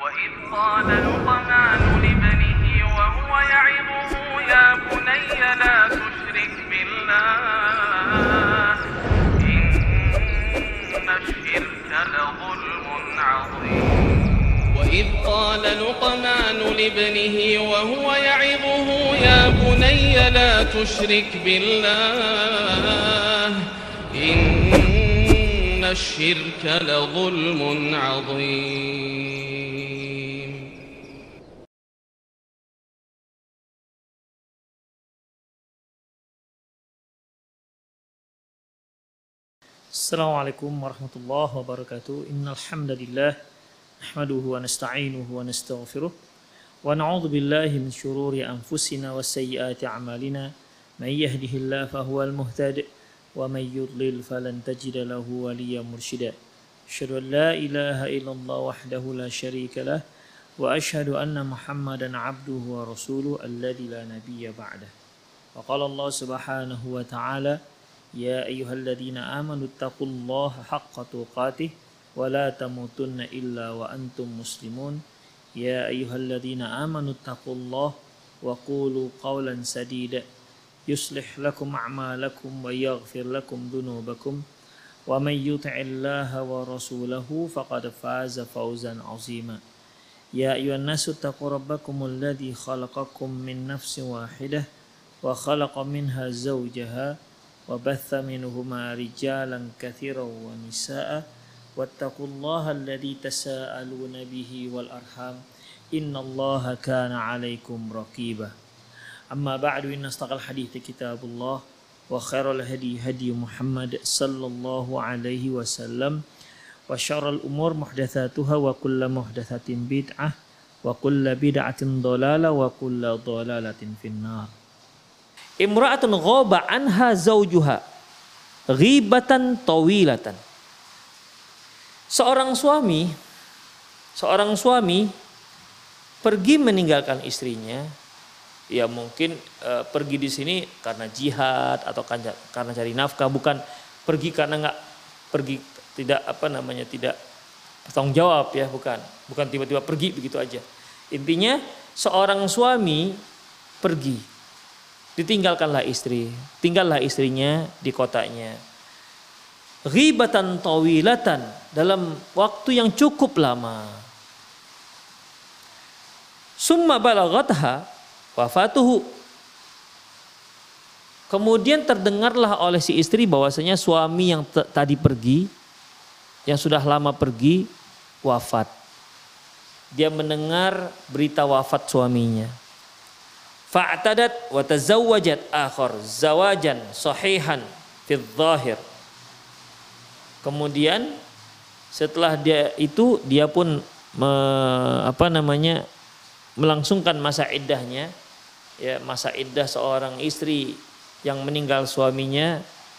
وإذ قال لقمان لابنه وهو يعظه يا بني لا تشرك بالله إن الشرك لظلم عظيم وإذ قال لقمان لابنه وهو يعظه يا بني لا تشرك بالله إن الشرك لظلم عظيم. Assalamualaikum warahmatullahi wabarakatuh. Innal hamdalillah nahmaduhu wa nasta'inuhu wa nastaghfiruh wa na'udzu billahi min shururi anfusina wa sayyiati a'malina. May yahdihillahu fahuwal muhtadi wa may yudlil falan tajida lahu waliyyan mursyida. Asyhadu an la ilaha illallah wahdahu la syarika lah wa asyhadu anna Muhammadan 'abduhu wa rasuluhu alladzi la nabiyya ba'dah. Wa qala Allah subhanahu wa ta'ala يا أيها الذين آمنوا اتقوا الله حق تقاته ولا تموتن إلا وأنتم مسلمون يا أيها الذين آمنوا اتقوا الله وقولوا قولا سديدا يصلح لكم أعمالكم ويغفر لكم ذنوبكم ومن يطع الله ورسوله فقد فاز فوزا عظيما يا أيها الناس اتقوا ربكم الذي خلقكم من نفس واحدة وخلق منها زوجها وبث منهما رجالا كثيرا ونساء واتقوا الله الذي تساءلون به والأرحام إن الله كان عليكم رقيبا أما بعد إن أصدق الحديث كتاب الله وخير الهدي هدي محمد صلى الله عليه وسلم وشر الأمور محدثاتها وكل محدثة بدعة وكل بدعة ضلالة وكل ضلالة في النار. Imra'atun ghaba anha zawjuha ghibatan tawilatan. Seorang suami pergi meninggalkan istrinya. Ya mungkin pergi di sini karena jihad atau karena cari nafkah, bukan pergi karena tidak bertanggung jawab ya, bukan tiba-tiba pergi begitu aja. Intinya seorang suami pergi, tinggallah istrinya di kotanya. Ghibatan tawilatan, dalam waktu yang cukup lama. Summa balaghatha wafatuhu. Kemudian terdengarlah oleh si istri bahwasanya suami yang tadi pergi, yang sudah lama pergi, wafat. Dia mendengar berita wafat suaminya. Fa'tadat wa tazawwajat akhar zawajan sahihan fi dhahir. Kemudian setelah dia pun melangsungkan masa iddahnya, ya, masa iddah seorang istri yang meninggal suaminya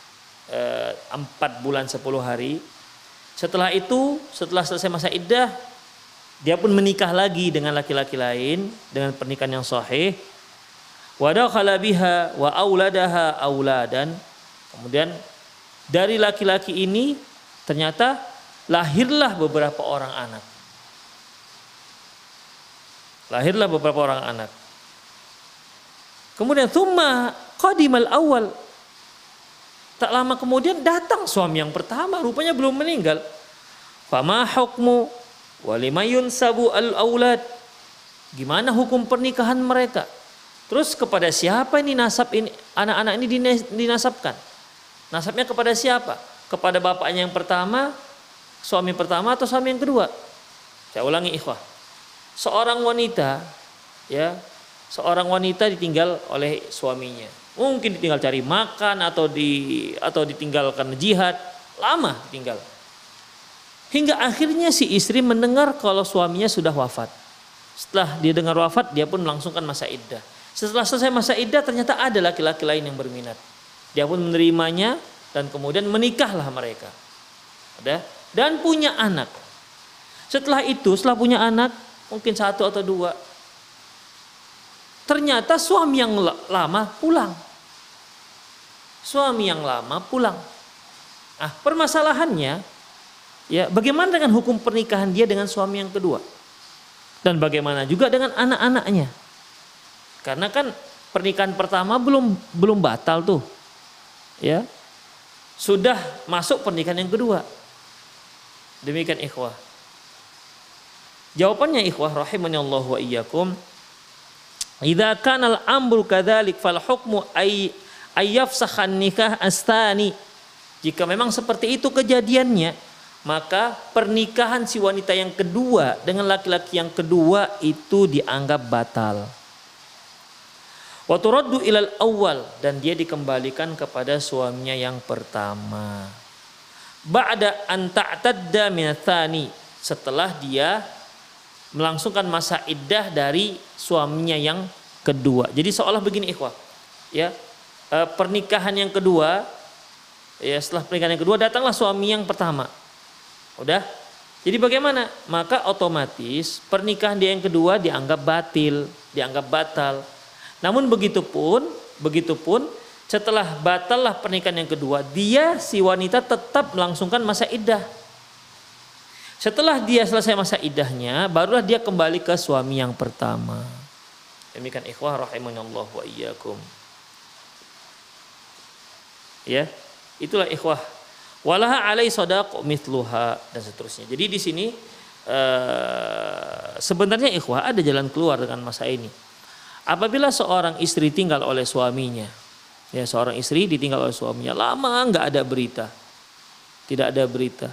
4 bulan 10 hari. Setelah selesai masa iddah, dia pun menikah lagi dengan laki-laki lain dengan pernikahan yang sahih. Wa dakhala biha wa auladaha auladan. Kemudian dari laki-laki ini ternyata lahirlah beberapa orang anak. Kemudian thumma qadimal awal. Tak lama kemudian datang suami yang pertama, rupanya belum meninggal. Fama hukmu wa limayun sabu al aulad. Gimana hukum pernikahan mereka? Terus kepada siapa ini nasab ini, anak-anak ini dinasabkan? Nasabnya kepada siapa? Kepada bapaknya yang pertama, suami pertama atau suami yang kedua? Saya ulangi ikhwah. Seorang wanita ditinggal oleh suaminya. Mungkin ditinggal cari makan atau ditinggal karena jihad, lama ditinggal. Hingga akhirnya si istri mendengar kalau suaminya sudah wafat. Setelah dia dengar wafat, dia pun melangsungkan masa iddah. Setelah selesai masa iddah ternyata ada laki-laki lain yang berminat. Dia pun menerimanya dan kemudian menikahlah mereka. Dan punya anak. Setelah punya anak, mungkin 1 atau 2. Ternyata suami yang lama pulang. Permasalahannya, ya, bagaimana dengan hukum pernikahan dia dengan suami yang kedua? Dan bagaimana juga dengan anak-anaknya. Karena kan pernikahan pertama belum batal tuh. Ya. Sudah masuk pernikahan yang kedua. Demikian ikhwah. Jawabannya ikhwah rahimanallahu wa iyyakum, idza kana al-amru kadzalik fal hukmu ayyafsakhan nikah astani. Jika memang seperti itu kejadiannya, maka pernikahan si wanita yang kedua dengan laki-laki yang kedua itu dianggap batal. Wa turaddu ilal awwal, dan dia dikembalikan kepada suaminya yang pertama. Ba'da an ta'tadda min tsani, setelah dia melangsungkan masa iddah dari suaminya yang kedua. Jadi seolah begini ikhwah, ya, pernikahan yang kedua, ya, setelah pernikahan yang kedua datanglah suami yang pertama. Udah. Jadi bagaimana? Maka otomatis pernikahan dia yang kedua dianggap batal. Namun begitupun setelah batallah pernikahan yang kedua, dia si wanita tetap melangsungkan masa iddah. Setelah dia selesai masa iddahnya, barulah dia kembali ke suami yang pertama. Demikian ikhwah rahimanallahu wa iyyakum. Ya, itulah ikhwah. Walaha alai sadaq mithluha, dan seterusnya. Jadi di sini sebenarnya ikhwah ada jalan keluar dengan masa ini. Apabila seorang istri tinggal oleh suaminya, ya, seorang istri ditinggal oleh suaminya lama nggak ada berita, tidak ada berita.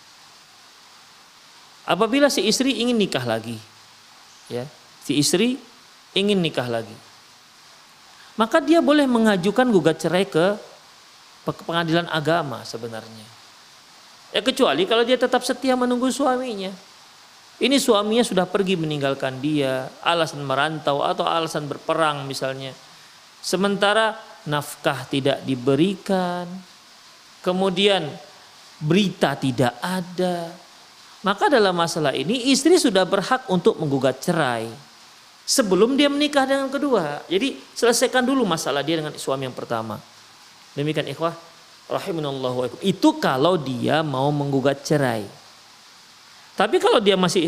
Apabila si istri ingin nikah lagi, ya, si istri ingin nikah lagi, maka dia boleh mengajukan gugat cerai ke pengadilan agama sebenarnya. Ya, kecuali kalau dia tetap setia menunggu suaminya. Ini suaminya sudah pergi meninggalkan dia, alasan merantau atau alasan berperang misalnya. Sementara nafkah tidak diberikan, kemudian berita tidak ada. Maka dalam masalah ini istri sudah berhak untuk menggugat cerai sebelum dia menikah dengan kedua. Jadi selesaikan dulu masalah dia dengan suami yang pertama. Demikian ikhwah rahimanallahu wa iyyakum. Itu kalau dia mau menggugat cerai. Tapi kalau dia masih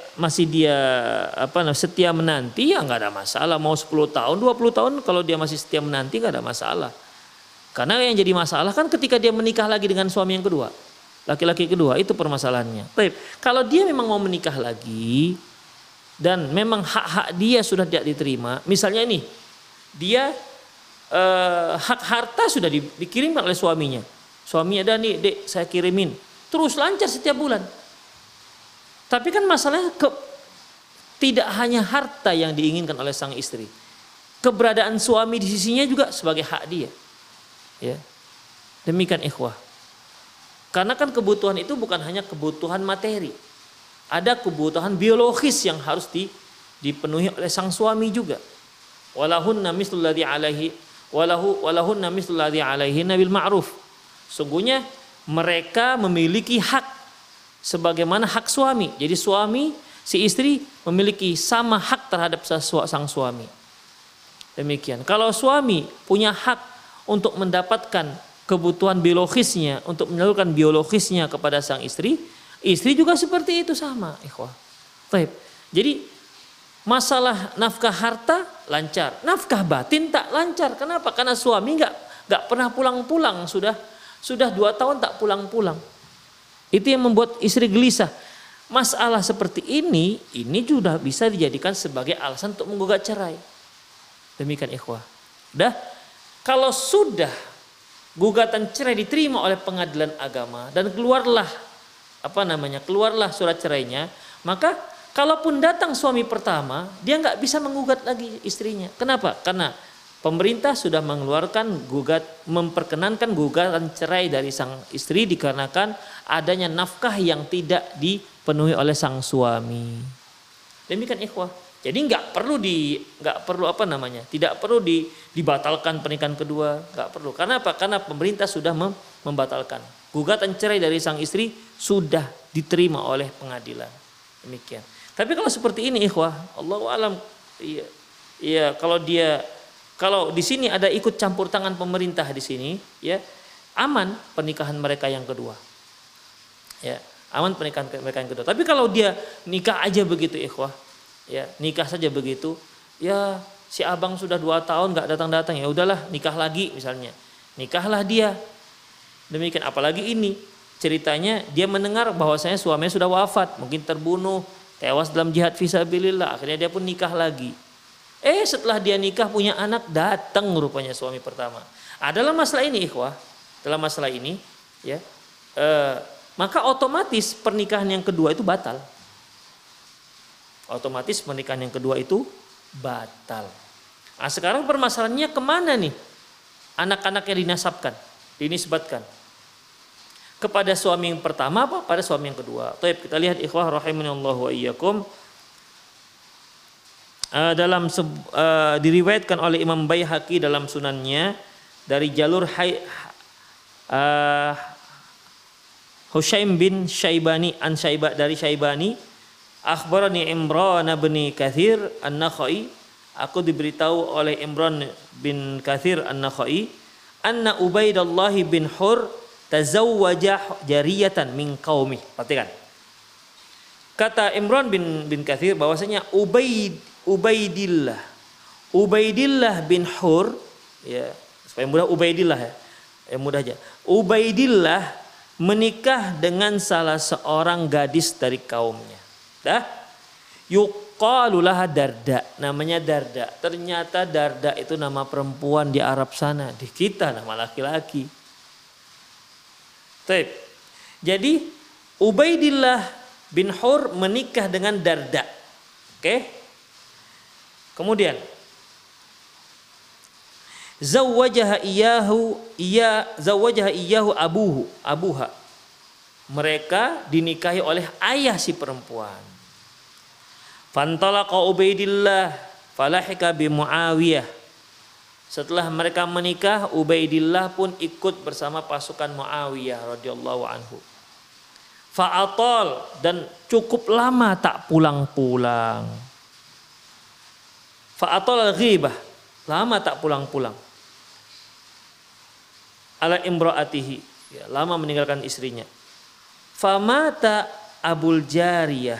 setia menanti, ya nggak ada masalah. Mau 10 tahun, 20 tahun, kalau dia masih setia menanti nggak ada masalah. Karena yang jadi masalah kan ketika dia menikah lagi dengan suami yang kedua, laki-laki kedua, itu permasalahannya. Baik, kalau dia memang mau menikah lagi dan memang hak-hak dia sudah tidak diterima, misalnya ini dia hak harta sudah dikirimkan oleh suaminya. Suaminya ada nih, dek, saya kirimin. Terus lancar setiap bulan. Tapi kan masalahnya tidak hanya harta yang diinginkan oleh sang istri. Keberadaan suami di sisinya juga sebagai hak dia. Ya. Demikian ikhwah. Karena kan kebutuhan itu bukan hanya kebutuhan materi. Ada kebutuhan biologis yang harus dipenuhi oleh sang suami juga. Walahunna mislul ladzi alaihi walahunna mislul ladzi alaihinna bil ma'ruf. Sungguhnya mereka memiliki hak sebagaimana hak suami. Jadi suami, si istri memiliki sama hak terhadap sang suami. Demikian. Kalau suami punya hak untuk mendapatkan kebutuhan biologisnya, untuk menyalurkan biologisnya kepada sang istri, istri juga seperti itu sama, ikhwah. Baik. Jadi masalah nafkah harta lancar, nafkah batin tak lancar. Kenapa? Karena suami nggak pernah pulang-pulang, sudah 2 tahun tak pulang-pulang. Itu yang membuat istri gelisah. Masalah seperti ini sudah bisa dijadikan sebagai alasan untuk menggugat cerai. Demikian ikhwah. Dah, kalau sudah gugatan cerai diterima oleh pengadilan agama dan keluarlah surat cerainya, maka kalaupun datang suami pertama, dia nggak bisa menggugat lagi istrinya. Kenapa? Karena pemerintah sudah memperkenankan gugatan cerai dari sang istri dikarenakan adanya nafkah yang tidak dipenuhi oleh sang suami. Demikian ikhwah. Jadi tidak perlu dibatalkan pernikahan kedua, nggak perlu. Karena apa? Karena pemerintah sudah membatalkan. Gugatan cerai dari sang istri sudah diterima oleh pengadilan. Demikian. Tapi kalau seperti ini ikhwah, Allahu a'lam, iya kalau di sini ada ikut campur tangan pemerintah di sini, ya, aman pernikahan mereka yang kedua. Ya, aman pernikahan mereka yang kedua. Tapi kalau dia nikah aja begitu ikhwah, Ya, nikah saja begitu. Ya, si abang sudah 2 tahun nggak datang-datang, ya udahlah nikah lagi misalnya. Nikahlah dia. Demikian, apalagi ini ceritanya dia mendengar bahwasanya suaminya sudah wafat, mungkin terbunuh, tewas dalam jihad fisabilillah, akhirnya dia pun nikah lagi. Setelah dia nikah punya anak, datang rupanya suami pertama. Dalam masalah ini ikhwah, dalam masalah ini ya, maka otomatis pernikahan yang kedua itu batal. Otomatis pernikahan yang kedua itu batal. Nah, sekarang permasalahannya kemana nih anak-anak yang dinasabkan, dinisbatkan? Kepada suami yang pertama apa pada suami yang kedua? Taib, kita lihat ikhwah rahimanallahu wa iyyakum. Diriwayatkan oleh Imam Baihaqi dalam sunannya dari jalur Hushaim bin Syaibani dari Syaibani, akhbarani Imran bin Katsir An-Nakhai, aku diberitahu oleh Imran bin Katsir An-Nakhai, anna Ubaidullah bin Hur tazawwaja jariyatan min qaumi. Perhatikan. Kata Imran bin Katsir bahwasanya Ubaidillah bin Hur, ya, supaya mudah Ubaidillah ya. Mudah aja. Ubaidillah menikah dengan salah seorang gadis dari kaumnya. Dah? Yuqalu laha Darda, namanya Darda. Ternyata Darda itu nama perempuan di Arab sana, di kita nama laki-laki. Baik. Jadi Ubaidillah bin Hur menikah dengan Darda. Oke? Kemudian zawajaha iyahu abuha. Mereka dinikahi oleh ayah si perempuan. Fantalaqa Ubaidillah falahika bi Muawiyah. Setelah mereka menikah, Ubaidillah pun ikut bersama pasukan Muawiyah radhiyallahu anhu. Fa'atal, dan cukup lama tak pulang-pulang. Fa'atal al-ghibah, lama tak pulang-pulang. Ala imra'atihi, ya, lama meninggalkan istrinya. Famata Abul Jariyah.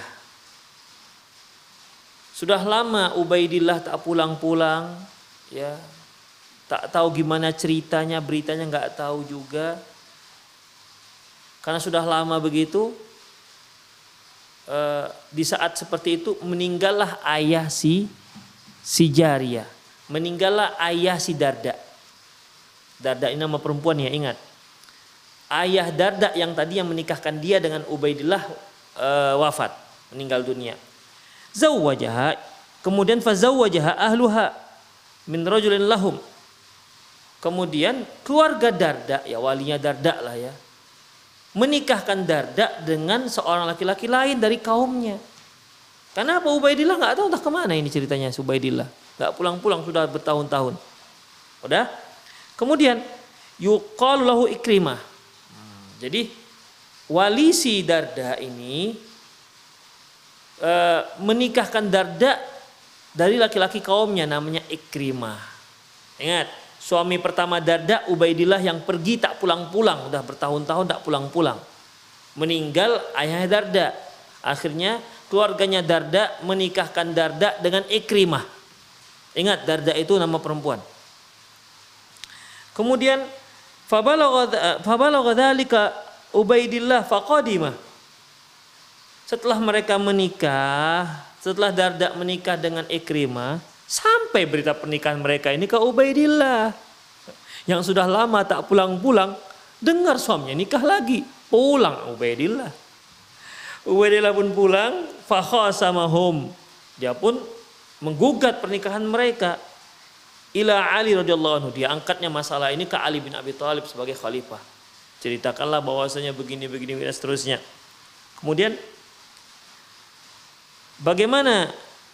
Sudah lama Ubaidillah tak pulang-pulang, ya. Tak tahu gimana ceritanya, beritanya nggak tahu juga. Karena sudah lama begitu, di saat seperti itu meninggallah ayah si Jariyah, meninggallah ayah si Darda. Darda ini nama perempuan ya, ingat. Ayah Darda yang tadi yang menikahkan dia dengan Ubaidillah wafat, meninggal dunia. Zawwajaha, kemudian fazawwajaha ahluha min rajulin lahum. Kemudian keluarga Darda, ya walinya Darda lah ya, menikahkan Darda dengan seorang laki-laki lain dari kaumnya. Kenapa Ubaidillah nggak tahu entah kemana ini ceritanya. Ubaidillah nggak pulang-pulang sudah bertahun-tahun. Udah. Kemudian yuqalu lahu Ikrimah. Jadi wali si Darda ini menikahkan Darda dari laki-laki kaumnya namanya Ikrimah. Ingat, suami pertama Darda Ubaidillah yang pergi tak pulang-pulang, udah bertahun-tahun tak pulang-pulang. Meninggal ayahnya Darda. Akhirnya keluarganya Darda menikahkan Darda dengan Ikrimah. Ingat, Darda itu nama perempuan. Kemudian fabalagha dzalika Ubaidillah faqadima. Setelah mereka menikah, setelah Darda menikah dengan Ikrimah, sampai berita pernikahan mereka ini ke Ubaidillah yang sudah lama tak pulang-pulang. Dengar suaminya nikah lagi, pulang Ubaidillah. Ubaidillah pun pulang, fakhasamahum, dia pun menggugat pernikahan mereka ila Ali radhiyallahu anhu. Dia angkatnya masalah ini ke Ali bin Abi Thalib sebagai khalifah. Ceritakanlah bahwasanya begini dan seterusnya. Kemudian bagaimana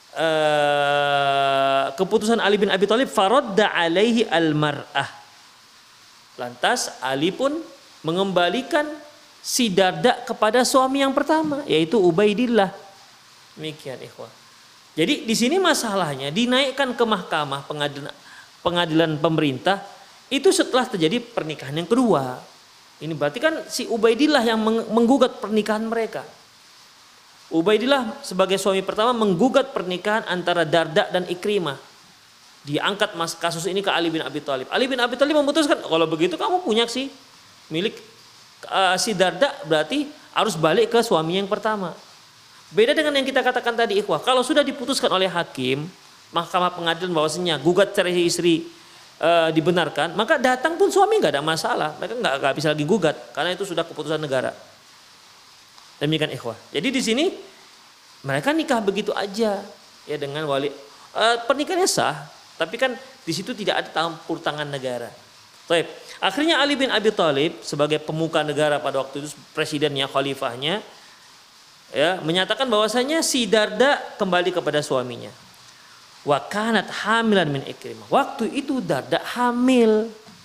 keputusan Ali bin Abi Thalib? Faradda alaihi al-mar'ah. Lantas Ali pun mengembalikan si Darda kepada suami yang pertama, yaitu Ubaidillah. Demikian ikhwah. Jadi di sini masalahnya dinaikkan ke mahkamah pengadilan pemerintah itu setelah terjadi pernikahan yang kedua. Ini berarti kan si Ubaidillah yang menggugat pernikahan mereka. Ubaidillah sebagai suami pertama menggugat pernikahan antara Darda dan Ikrimah. Diangkat kasus ini ke Ali bin Abi Thalib. Ali bin Abi Thalib memutuskan, kalau begitu kamu punya sih milik si Darda, berarti harus balik ke suami yang pertama. Beda dengan yang kita katakan tadi ikhwah. Kalau sudah diputuskan oleh hakim, mahkamah pengadilan bahwasanya gugat cerai istri dibenarkan, maka datang pun suami nggak ada masalah. Mereka nggak bisa lagi gugat karena itu sudah keputusan negara. Demikian ikhwah. Jadi di sini mereka nikah begitu aja ya dengan wali. Pernikahannya sah, tapi kan di situ tidak ada campur tangan negara. Baik. Akhirnya Ali bin Abi Thalib sebagai pemuka negara pada waktu itu, presidennya, khalifahnya, ya, menyatakan bahwasanya si Darda kembali kepada suaminya. Wa kanat hamilan min Ikrimah. Waktu itu Darda hamil.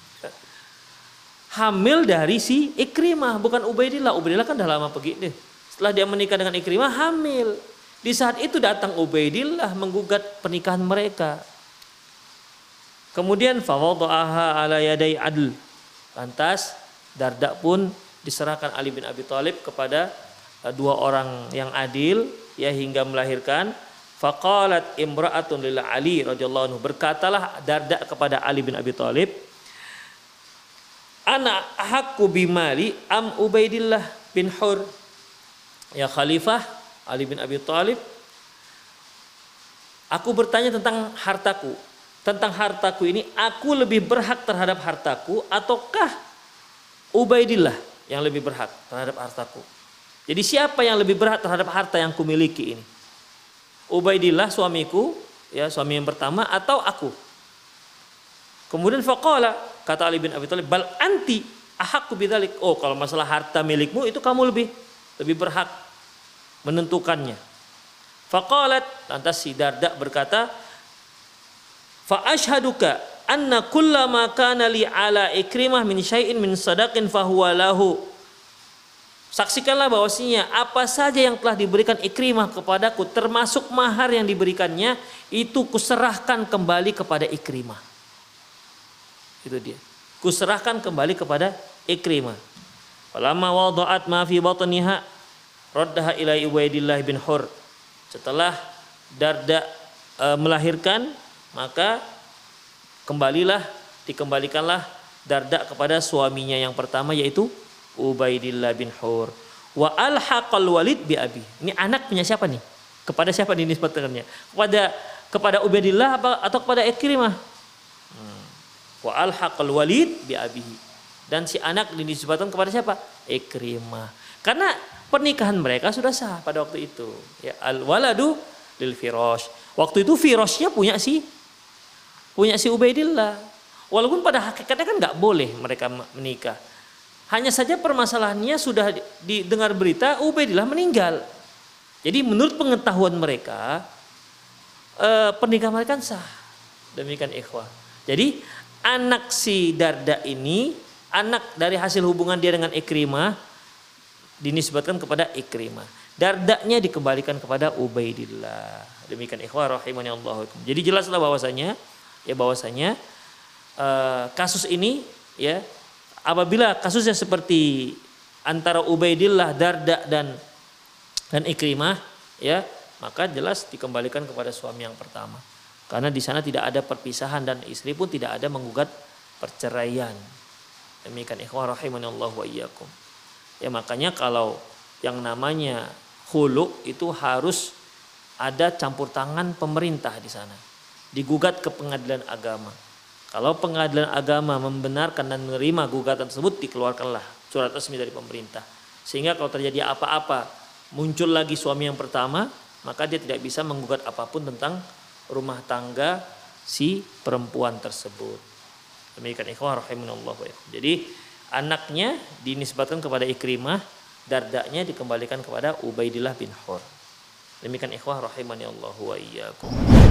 Hamil dari si Ikrimah, bukan Ubaidillah. Ubaidillah kan dah lama pergi deh. Setelah dia menikah dengan Ikrimah, hamil. Di saat itu datang Ubaidillah menggugat pernikahan mereka. Kemudian fawadha'aha ala yaday adl. Lantas Darda pun diserahkan Ali bin Abi Thalib kepada dua orang yang adil ya hingga melahirkan. Faqalat imra'atun lil Ali radhiyallahu anhu. Berkatalah Darda kepada Ali bin Abi Thalib, ana ahakku bimali am Ubaidillah bin Hur. Ya Khalifah Ali bin Abi Thalib, aku bertanya tentang hartaku. Tentang hartaku ini, aku lebih berhak terhadap hartaku ataukah Ubaidillah yang lebih berhak terhadap hartaku? Jadi siapa yang lebih berhak terhadap harta yang kumiliki ini? Ubaidillah suamiku, ya suami yang pertama, atau aku? Kemudian faqala, kata Ali bin Abi Thalib, bal anti ahakku bidzalik. Oh, kalau masalah harta milikmu itu kamu lebih berhak menentukannya. Faqalat, lantas si Darda berkata, fa asyhaduka anna kullama kana li ala Ikrimah min syai'in min sadaqin fahuwa lahu. Saksikanlah bahwasanya apa saja yang telah diberikan Ikrimah kepadaku termasuk mahar yang diberikannya itu kuserahkan kembali kepada Ikrimah. Itu dia. Kuserahkan kembali kepada Ikrimah. Falamma wada'at ma fi batniha raddaha ila Ubaidillah bin Hur. Setelah Darda melahirkan, maka dikembalikanlah Darda kepada suaminya yang pertama yaitu Ubaidillah bin Hur. Wa alhaqal Walid bi abi. Ini anak punya siapa nih? Kepada siapa dinisbatkannya? Kepada Ubaidillah atau kepada Ikrimah? Wa alhaqal Walid bi abihi. Dan si anak dinisbatkan kepada siapa? Ikrimah. Karena pernikahan mereka sudah sah pada waktu itu. Ya, al waladu lil firash. Waktu itu firashnya punya si Ubaidillah. Walaupun pada hakikatnya kan nggak boleh mereka menikah. Hanya saja permasalahannya sudah didengar berita Ubaidillah meninggal. Jadi menurut pengetahuan mereka pernikahan mereka sah. Demikian ikhwah. Jadi anak si Darda ini, anak dari hasil hubungan dia dengan Ikrimah, dinisbatkan kepada Ikrimah. Dardanya dikembalikan kepada Ubaidillah. Demikian ikhwah rahimani Allah. Jadi jelaslah bahwasanya kasus ini ya, apabila kasusnya seperti antara Ubaidillah, Darda dan Ikrimah ya, maka jelas dikembalikan kepada suami yang pertama. Karena di sana tidak ada perpisahan dan istri pun tidak ada menggugat perceraian. Demikian ikhwah rahimani Allah wa iyyakum. Ya makanya kalau yang namanya khulu itu harus ada campur tangan pemerintah di sana. Digugat ke pengadilan agama. Kalau pengadilan agama membenarkan dan menerima gugatan tersebut, dikeluarkanlah surat resmi dari pemerintah. Sehingga kalau terjadi apa-apa, muncul lagi suami yang pertama, maka dia tidak bisa menggugat apapun tentang rumah tangga si perempuan tersebut. Demikian ikhwah rahimanallah. Jadi anaknya dinisbatkan kepada Ikrimah, Dardanya dikembalikan kepada Ubaidillah bin Hur. Demikian ikhwah rahimani Allah wa iyyakum.